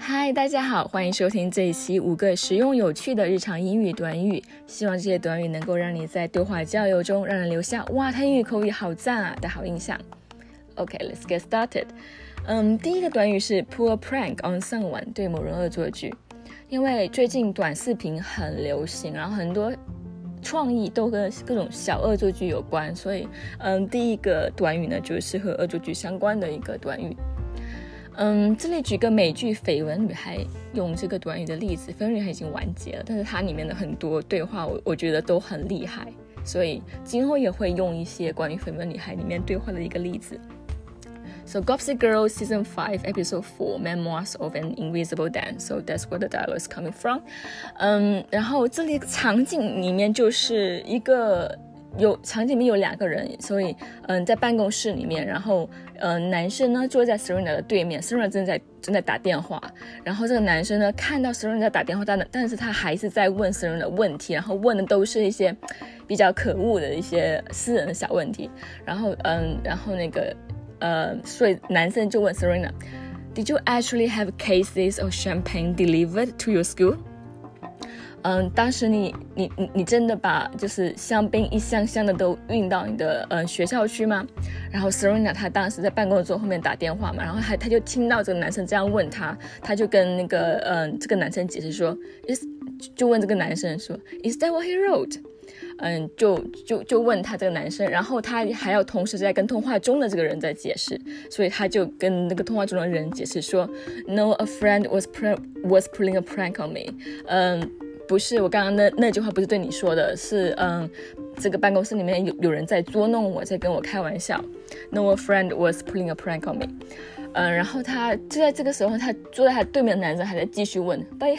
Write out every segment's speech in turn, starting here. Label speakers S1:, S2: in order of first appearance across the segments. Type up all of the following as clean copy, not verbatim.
S1: 嗨，大家好，欢迎收听这一期5个实用有趣的日常英语短语，希望这些短语能够让你在对话交流中让人留下哇，他英语口语好赞啊的好印象。Okay, let's get started. 第一个短语是 pull a prank on someone， 对某人恶作剧。因为最近短视频很流行，然后很多创意都跟各种小恶作剧有关，所以第一个短语呢就是和恶作剧相关的一个短语。这里举个美剧《绯闻女孩》用这个短语的例子。绯闻女孩已经完结了，但是它里面的很多对话我觉得都很厉害，所以今后也会用一些关于绯闻女孩里面对话的一个例子。So Gossip Girl Season 5 Episode 4 Memoirs of an Invisible Dan. So that's where the dialogue is coming from. 然后这里场景里面就是场景里面有2个人，所以在办公室里面，然后男生呢坐在 Serena 的对面， Serena 正在打电话，然后这个男生呢看到 Serena 在打电话，但是他还是在问 Serena 的问题，然后问的都是一些比较可恶的一些私人的小问题，然后那个所以男生就问 Serena Did you actually have cases of champagne delivered to your school?当时你真的把就是香槟一箱箱的都运到你的学校去吗？然后 Serena 她当时在办公桌后面打电话嘛，然后她就听到这个男生这样问她就跟那个这个男生解释说就问这个男生说 Is that what he wrote?就问他这个男生，然后他还要同时在跟通话中的这个人在解释，所以他就跟那个通话中的人解释说 No, a friend was pulling a prank on me. 不是，我刚刚那句话不是对你说的，是这个办公室里面有人在捉弄我，在跟我开玩笑。No, a friend was pulling a prank on me. 然后他就在这个时候，他坐在他对面的男生还在继续问 But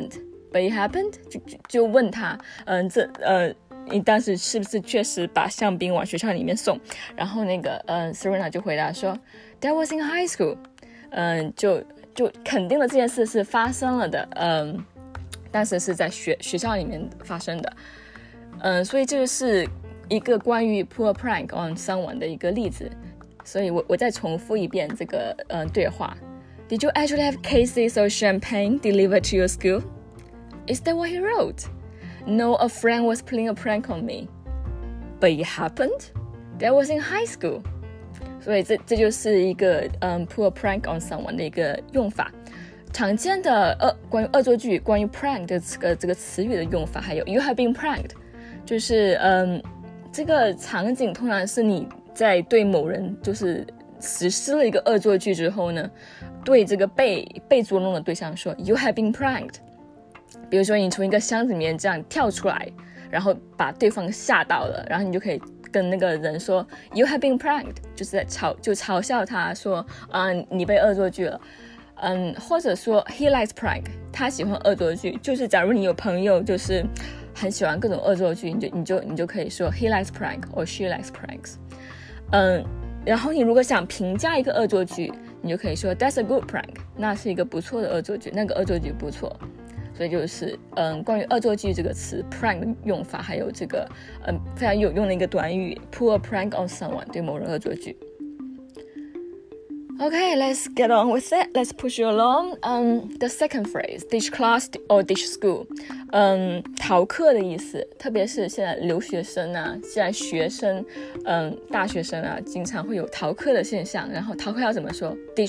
S1: it happened? 就问他你当时是不是确实把香槟往学校里面送？然后那个Serena 就回答说 That was in high school. 就肯定了这件事是发生了的，当时是在学校里面发生的，所以这就是一个关于 pull a prank on someone 的一个例子。所以我再重复一遍这个对话。Did you actually have cases of champagne delivered to your school? Is that what he wrote?No, a friend was pulling a prank on me. But it happened? That was in high school. 所以这就是一个pull a prank on someone 的一个用法。常见的关于恶作剧，关于 prank 的这个词语的用法，还有 you have been pranked， 就是这个场景通常是你在对某人就是实施了一个恶作剧之后呢，对这个被捉弄的对象说 you have been pranked。比如说你从一个箱子里面这样跳出来，然后把对方吓到了，然后你就可以跟那个人说 You have been pranked， 就是在嘲笑他说你被恶作剧了。或者说 He likes prank， 他喜欢恶作剧，就是假如你有朋友就是很喜欢各种恶作剧，你就可以说 He likes prank or she likes pranks。然后你如果想评价一个恶作剧，你就可以说 That's a good prank， 那是一个不错的恶作剧，那个恶作剧不错。所以就是关于恶作剧这个词 prank 的用法，还有这个非常有用的一个短语 pull a prank on someone， 对某人恶作剧。Okay, let's get on with it. Let's push you along. The second phrase, ditch class or ditch school. 逃课的意思，特别是现在留学生啊，现在学生大学生啊，经常会有逃课的现象。然后逃课要怎么说？ ditch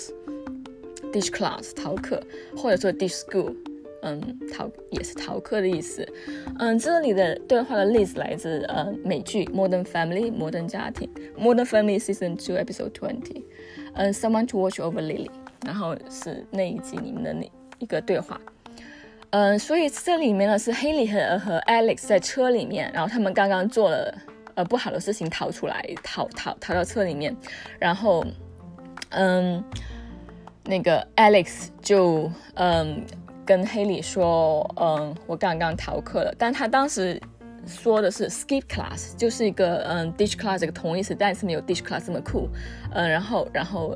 S1: class 逃课，或者说 ditch school，也是逃课的意思。这里的对话的例子来自美剧 Modern Family 摩登家庭 Modern Family Season 2 Episode 20。Someone to watch over Lily， 然后是那一集里面的那一个对话。所以这里面呢是 Haley 和 Alex 在车里面，然后他们刚刚做了不好的事情，逃出来，逃到车里面，然后那个 Alex 就跟 Haley 说我刚刚逃课了，但他当时说的是 skip class， 就是一个ditch class 这个同义词，但是没有 ditch class 这么酷。然后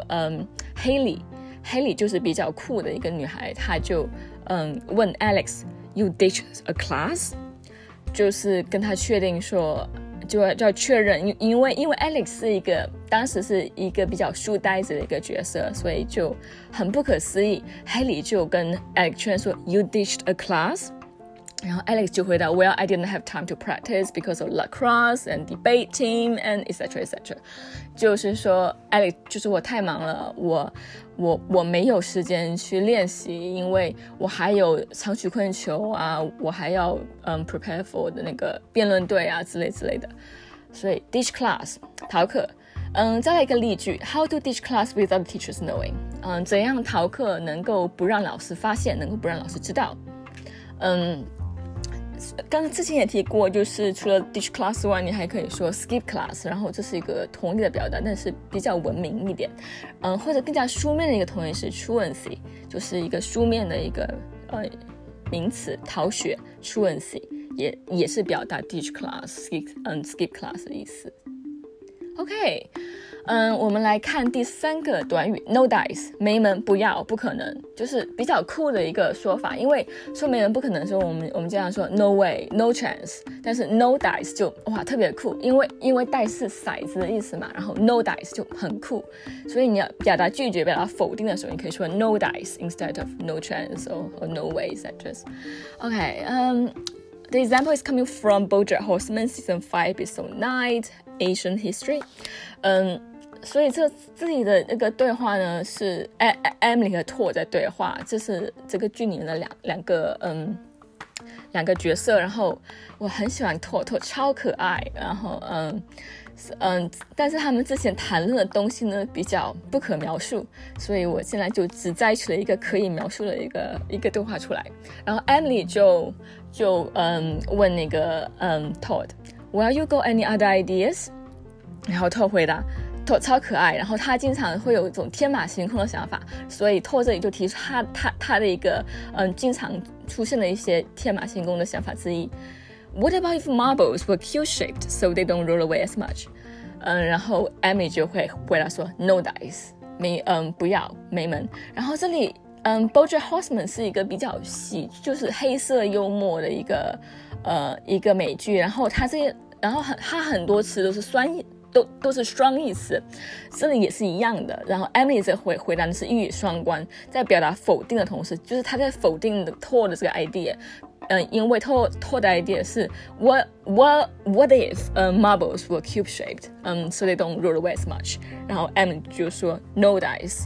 S1: Haley 就是比较酷的一个女孩，她就问 Alex You ditch a class， 就是跟他确定说就要确认，因为 Alex 当时是一个比较书呆子的一个角色，所以就很不可思议。Haley 就跟 Alex 确认说 You ditched a class？ 然后 Alex 就回答 Well, I didn't have time to practice because of lacrosse and debate team and etc. etc. 就是说 Alex 就是我太忙了，我没有时间去练习，因为我还有长曲棍球啊，我还要prepare for 的那个辩论队啊之类的，所以 ditch class 逃课。再来一个例句 How to ditch class without teachers knowing？ 怎样逃课能够不让老师发现，能够不让老师知道？刚刚之前也提过，就是除了 ditch class 外，你还可以说 skip class， 然后这是一个同义的表达，但是比较文明一点。或者更加书面的一个同义是 truancy， 就是一个书面的一个名词，逃学 truancy 也是表达 ditch class skip class 的意思。OK， 我们来看第3个短语 no dice， 没门，不要，不可能，就是比较酷的一个说法。因为说没门不可能的时候，我们经常说 no way no chance， 但是 no dice 就哇特别酷，因为 dice 是骰子的意思嘛，然后 no dice 就很酷，所以你要表达拒绝表达否定的时候，你可以说 no dice instead of no chance or no way etc. The example is coming from BoJack Horseman Season 5 Episode 9 Asian History。所以这里的那个对话呢是 Emily 和 Todd 在对话，这是这个剧里面的两个角色，然后我很喜欢 Todd 超可爱，然后但是他们之前谈论的东西呢比较不可描述，所以我现在就只摘取了一个可以描述的一个对话出来。然后 Emily 就问那个Todd Well, you got any other ideas？ 然后 Todd 回答 Todd 超可爱，然后他经常会有一种天马行空的想法，所以 Todd 这里就提出他的一个经常出现的一些天马行空的想法之一。What about if marbles were cube-shaped so they don't roll away as much？ 然后 Emily 就会回答说 No dice， 不要，没门。然后这里BoJack Horseman 是一个比较就是黑色幽默的一个美剧，然后它很多词都是都是双义词，这里也是一样的。然后 Emily 这回答的是一语双关，在表达否定的同时，就是他在否定的 Todd 的这个 idea。因为 Todd 的 idea 是 What if marbles were cube shaped so they don't roll away as much？ 然后 Emily 就说 No dice，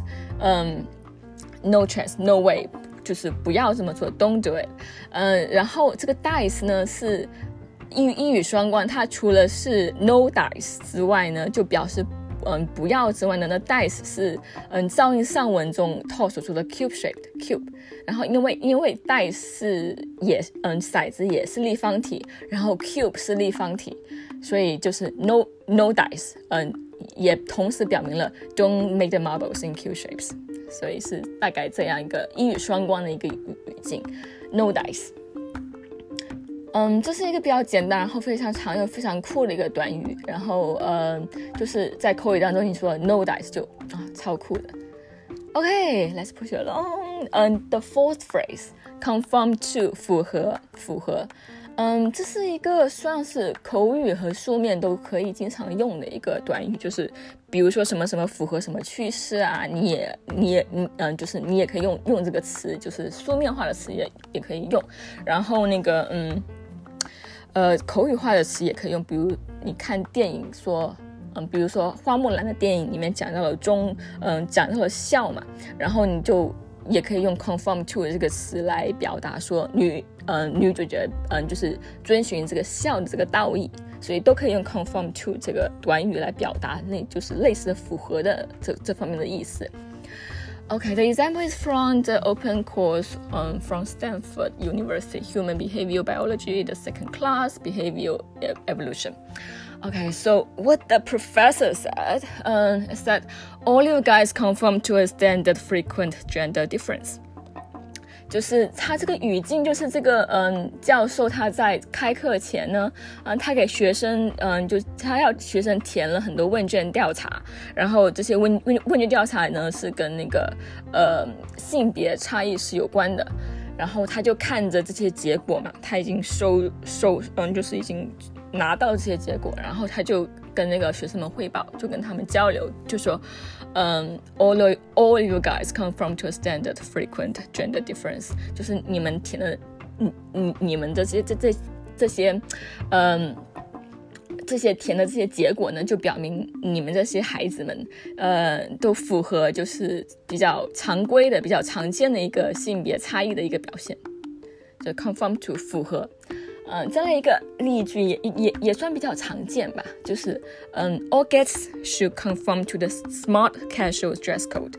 S1: no chance no way， 就是不要这么做 don't do it。然后这个 dice 呢是一语双关，它除了是 no dice 之外呢，就表示不要之外呢，那 dice 是照应上文中 Todd 所说的 cube shaped cube。然后因为 dice 是骰子也是立方体，然后 cube 是立方体，所以就是 no dice， 也同时表明了 don't make the marbles in cube shapes， 所以是大概这样一个一语双关的一个语境 no dice。这是一个比较简单，然后非常常用、非常酷的一个短语。然后就是在口语当中，你说 no dice 就超酷的。Okay, let's push it along. The fourth phrase, conform to 符合。这是一个算是口语和书面都可以经常用的一个短语，就是比如说什么什么符合什么趋势啊，你也可以用这个词，就是书面化的词也可以用。然后那个口语化的词也可以用，比如你看电影说，比如说花木兰的电影里面讲到了讲到了笑嘛，然后你就也可以用 conform to 这个词来表达说女主角就是遵循这个笑的这个道义，所以都可以用 conform to 这个短语来表达，那就是类似的符合的这方面的意思。Okay, the example is from the open course from Stanford University, Human Behavior Biology, the second class, Behavior Evolution. Okay, so what the professor said is that all you guys conform to a standard frequent gender difference. 就是他这个语境，就是这个教授他在开课前呢，他给学生就他要学生填了很多问卷调查，然后这些问卷调查呢是跟那个性别差异是有关的，然后他就看着这些结果嘛，他已经就是已经拿到这些结果，然后他就跟那个学生们汇报，就跟他们交流，就说all you guys come from to a standard frequent gender difference， 就是你们填的你们的这些填的这些结果呢，就表明你们这些孩子们都符合就是比较常规的比较常见的一个性别差异的一个表现，就 conform to 符合。这样一个例句也算比较常见吧，就是all guests should conform to the smart casual dress code。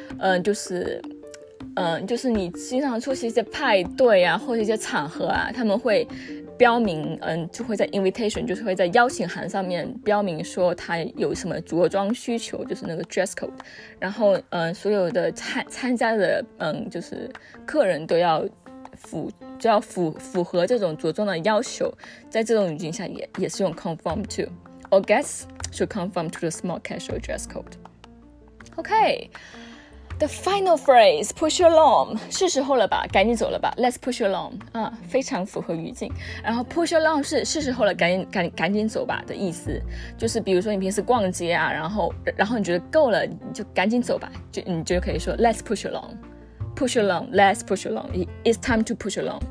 S1: 就是你经常出席一些派对啊，或者一些场合啊，他们会标明，就会在 invitation， 就是会在邀请函上面标明说他有什么着装需求，就是那个 dress code。然后，所有的参加的，就是客人都要符合这种着装的要求。在这种语境下也是用 conform to。All guests should conform to the smart casual dress code. Okay.The final phrase, push along， 是时候了吧，赶紧走了吧 ，Let's push along， 非常符合语境。然后 push along 是时候了，赶紧走吧的意思，就是比如说你平时逛街啊，然后你觉得够了，你就赶紧走吧，你就可以说 Let's push along，push along，Let's push along，It's time to push along，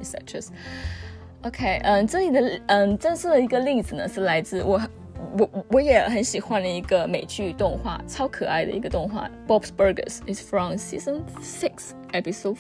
S1: etc. OK， 这里的正式的一个例子呢，是来自我也很喜欢的一个美剧动画，超可爱的一个动画 Bob's Burgers is from season 6 episode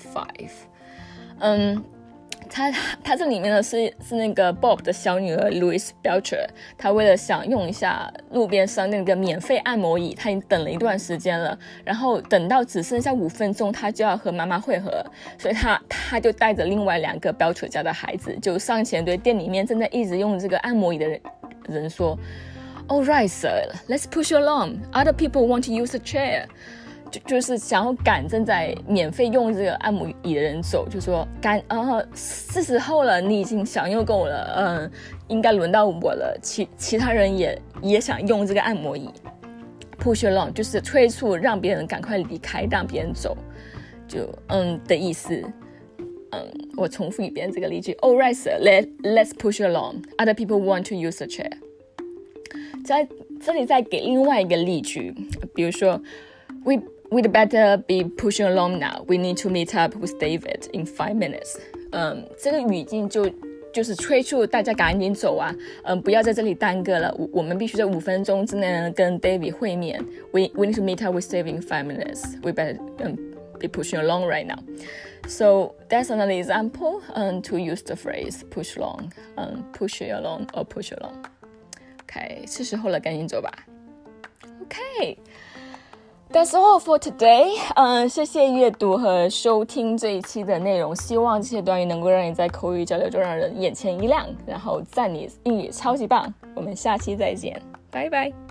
S1: 5。它这里面呢是那个 Bob 的小女儿 Louise Belcher， 她为了想用一下路边上那个免费按摩椅，她已经等了一段时间了，然后等到只剩下5分钟，她就要和妈妈会合，所以她就带着另外2个 Belcher 家的孩子，就上前对店里面正在一直用这个按摩椅的人说，All right, sir, let's push you along. Other people want to use a chair. 就是想要赶正在免费用这个按摩椅的人走，就说是时候了，你已经享用够了，应该轮到我了。其他人也想用这个按摩椅。Push you along 就是催促让别人赶快离开，让别人走，就的意思。我重复一遍这个例句 ：All right, sir, let's push you along. Other people want to use a chair. 在这里再给另外一个例句，比如说 We'd better be pushing along now. We need to meet up with David in 5 minutes. 这个语境就是催促大家赶紧走啊，不要在这里耽搁了。我们必须在5分钟之内呢跟 David 会面。We need to meet up with David in 5 minutes. We better be pushing along right now. So that's another example to use the phrase push along, push along or push along.OK， 是时候了，赶紧走吧。OK，That's all for today. 谢谢阅读和收听这一期的内容，希望这些短语能够让你在口语交流中让人眼前一亮，然后赞你英语超级棒。我们下期再见，拜拜。